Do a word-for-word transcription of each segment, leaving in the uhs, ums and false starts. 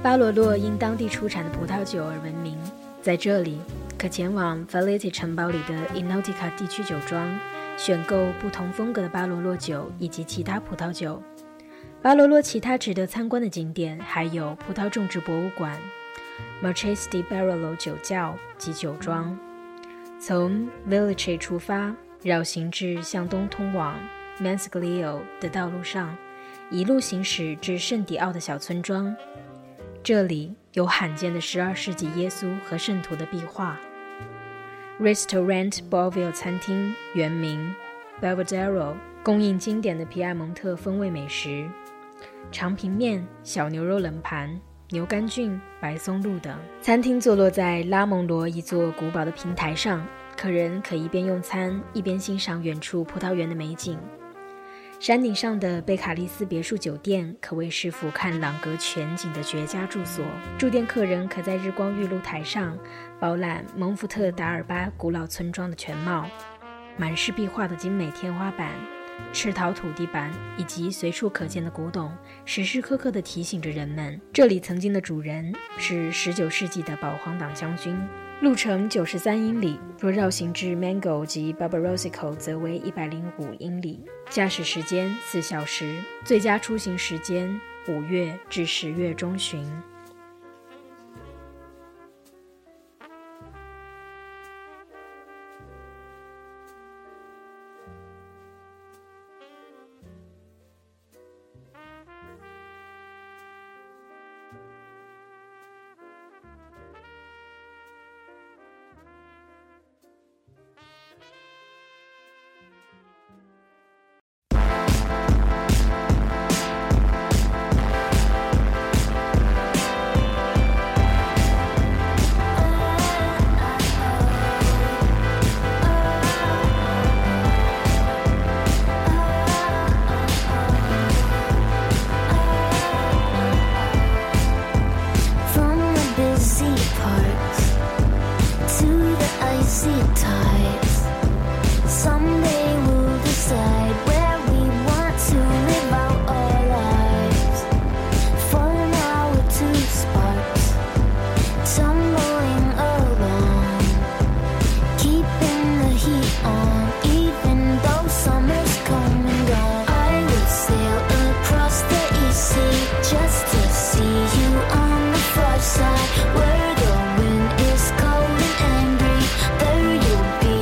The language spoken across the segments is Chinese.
巴罗洛因当地出产的葡萄酒而闻名，在这里可前往 Valletta 城堡里的 Enotica 地区酒庄，选购不同风格的巴罗洛酒以及其他葡萄酒。巴罗洛其他值得参观的景点还有葡萄种植博物馆、Marchese di Barolo 酒窖及酒庄。从 Village 出发，绕行至向东通往 Mansiglio 的道路上，一路行驶至圣迪奥的小村庄。这里有罕见的十二世纪耶稣和圣徒的壁画。Restaurant Bovio 餐厅原名 Belvedere， 供应经典的皮埃蒙特风味美食，长平面、小牛肉冷盘、牛肝菌、白松露等。餐厅坐落在拉蒙罗一座古堡的平台上，客人可一边用餐一边欣赏远处葡萄园的美景。山顶上的贝卡利斯别墅酒店可谓是俯瞰朗格全景的绝佳住所，住店客人可在日光浴露台上饱览蒙福特达尔巴古老村庄的全貌。满是壁画的精美天花板、赤陶土地板以及随处可见的古董，时时刻刻地提醒着人们，这里曾经的主人是十九世纪的保皇党将军。路程九十三英里，若绕行至 Mango 及 Barbarosico 则为一百零五英里，驾驶时间四小时，最佳出行时间五月至十月中旬。 Where the wind is cold and angry, there you'll be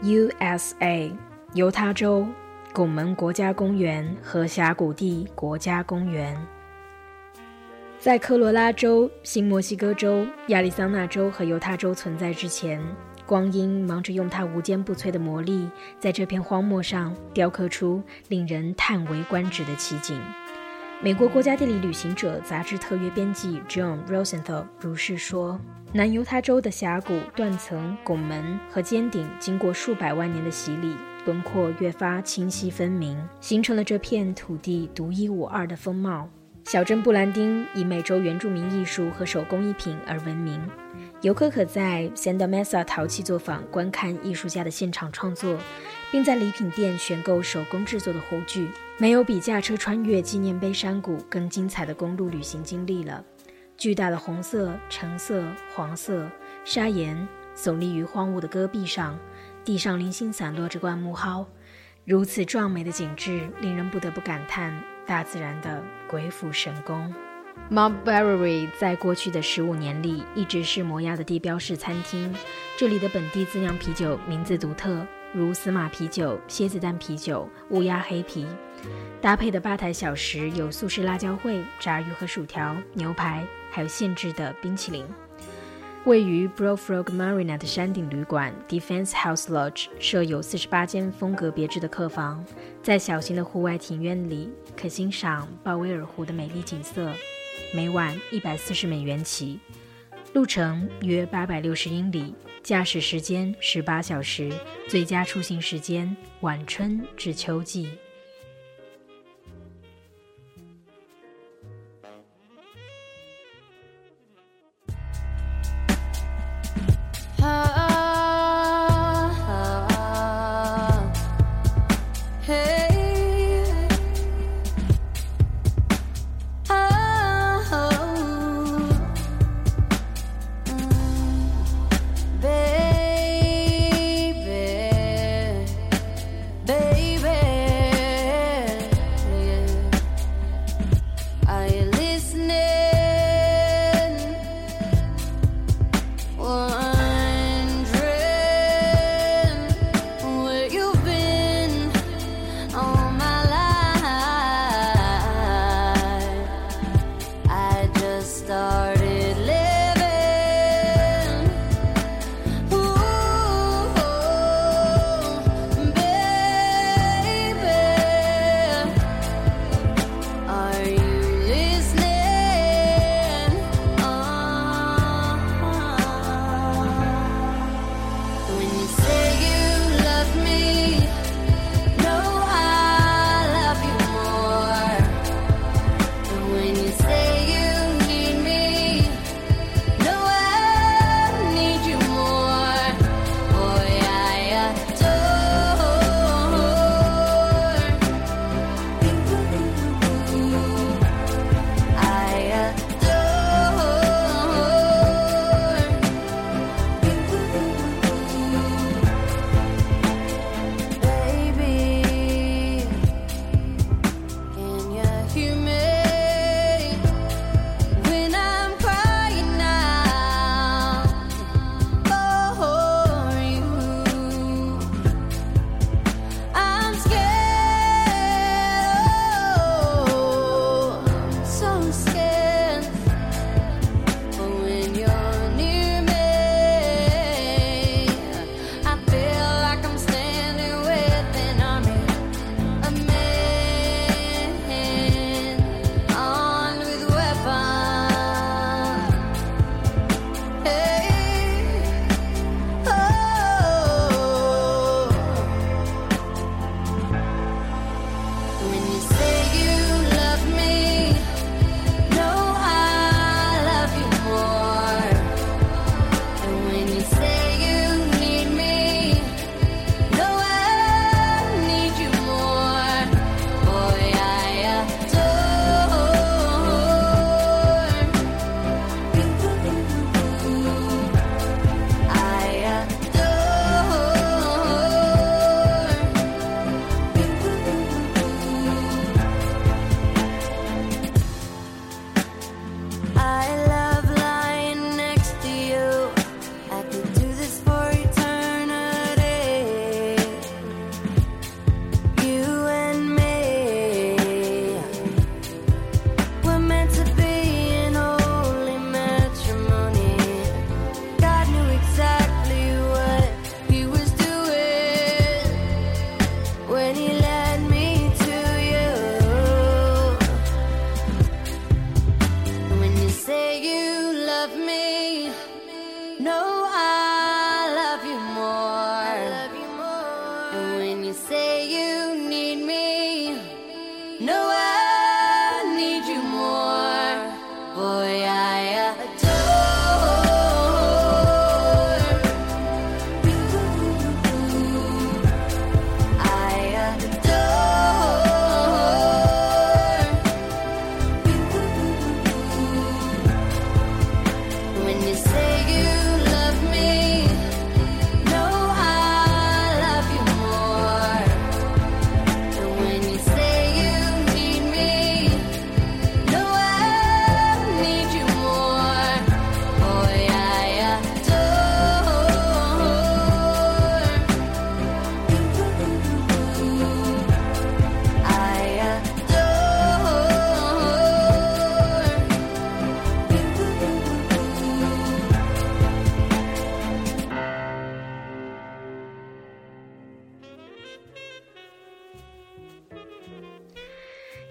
U S A 犹他州拱门国家公园和峡谷地国家公园。在科罗拉州、新墨西哥州、亚利桑那州和犹他州存在之前，光阴忙着用它无坚不摧的魔力，在这片荒漠上雕刻出令人叹为观止的奇景。美国国家地理旅行者杂志特约编辑 John Rosenthal 如是说，南犹他州的峡谷、断层、拱门和尖顶经过数百万年的洗礼，轮廓越发清晰分明，形成了这片土地独一无二的风貌。小镇布兰丁以美洲原住民艺术和手工艺品而闻名，游客可在 Santa Mesa 陶器作坊观看艺术家的现场创作，并在礼品店选购手工制作的壶具。没有比驾车穿越纪念碑山谷更精彩的公路旅行经历了。巨大的红色、橙色、黄色砂岩耸立于荒芜的戈壁上，地上零星散落着灌木蒿，如此壮美的景致令人不得不感叹大自然的鬼斧神工。Mount Berry 在过去的十五年里一直是摩亚的地标式餐厅，这里的本地自酿啤酒名字独特，如司马啤酒、蝎子蛋啤酒、乌鸦黑啤。搭配的吧台小食有素式辣椒烩、炸鱼和薯条、牛排，还有现制的冰淇淋。位于 Bullfrog Marina 的山顶旅馆 Defense House Lodge 设有四十八间风格别致的客房，在小型的户外庭院里可欣赏鲍威尔湖的美丽景色，每晚一百四十美元起，路程约八百六十英里，驾驶时间十八小时，最佳出行时间晚春至秋季。 Baby, baby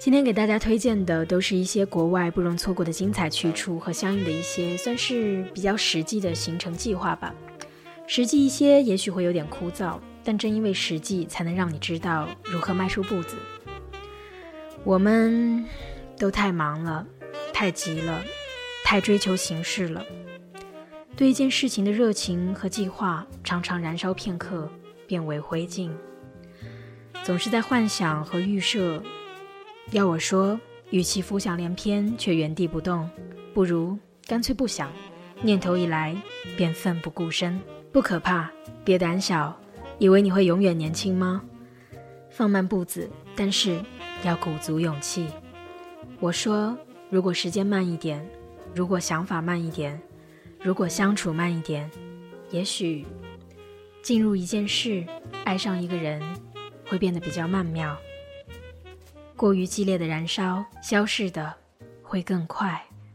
今天给大家推荐的都是一些国外不容错过的精彩去处和相应的一些算是比较实际的行程计划吧。实际一些也许会有点枯燥，但正因为实际才能让你知道如何迈出步子。我们都太忙了，太急了，太追求形式了，对一件事情的热情和计划常常燃烧片刻变为灰烬，总是在幻想和预设。要我说，与其浮想联翩却原地不动，不如干脆不想，念头一来便奋不顾身。不可怕，别胆小，以为你会永远年轻吗？放慢步子，但是要鼓足勇气。我说，如果时间慢一点，如果想法慢一点，如果相处慢一点，也许进入一件事，爱上一个人，会变得比较曼妙。过于激烈的燃烧，消逝的会更快。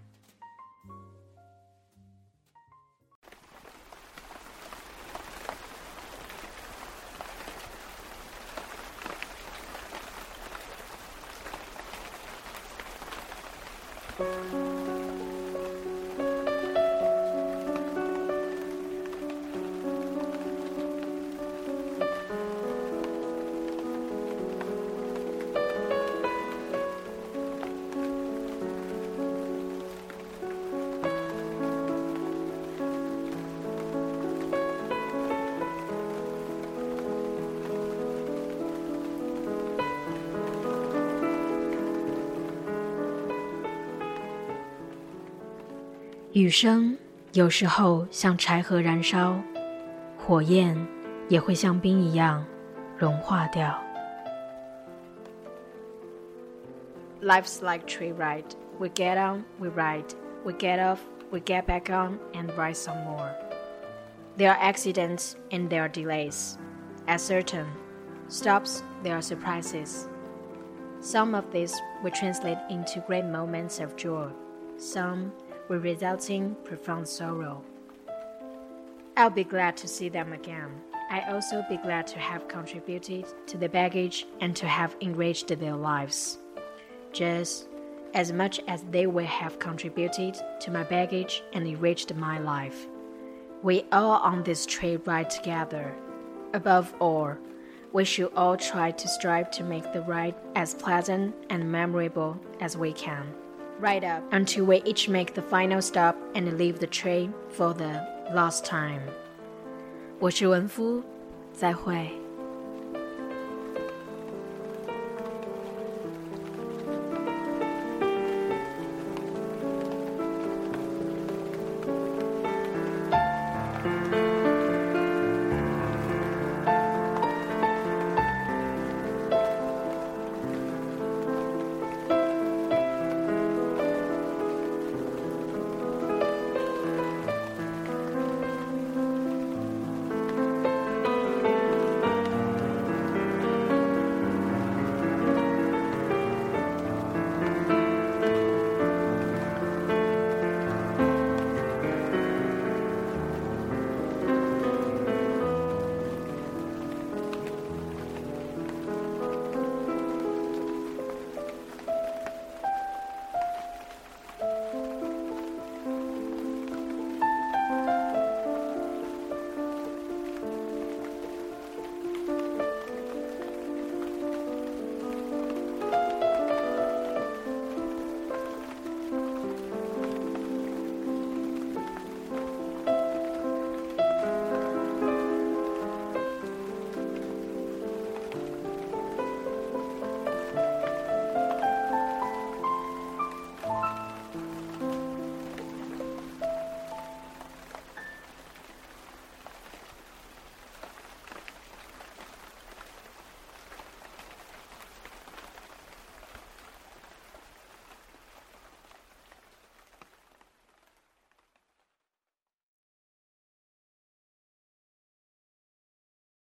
雨声有时候像柴禾燃烧，火焰也会像冰一样融化掉。 Life's like tree ride. We get on, we ride. We get off, we get back on and ride some more. There are accidents and there are delays. At certain stops, there are surprises. Some of these will translate into great moments of joy. Some will result in profound sorrow. I'll be glad to see them again. I also be glad to have contributed to the baggage and to have enriched their lives, just as much as they will have contributed to my baggage and enriched my life. We all on this trade ride together. Above all, we should all try to strive to make the ride as pleasant and memorable as we can. Right up until we each make the final stop and leave the train for the last time. 我是文夫，再会。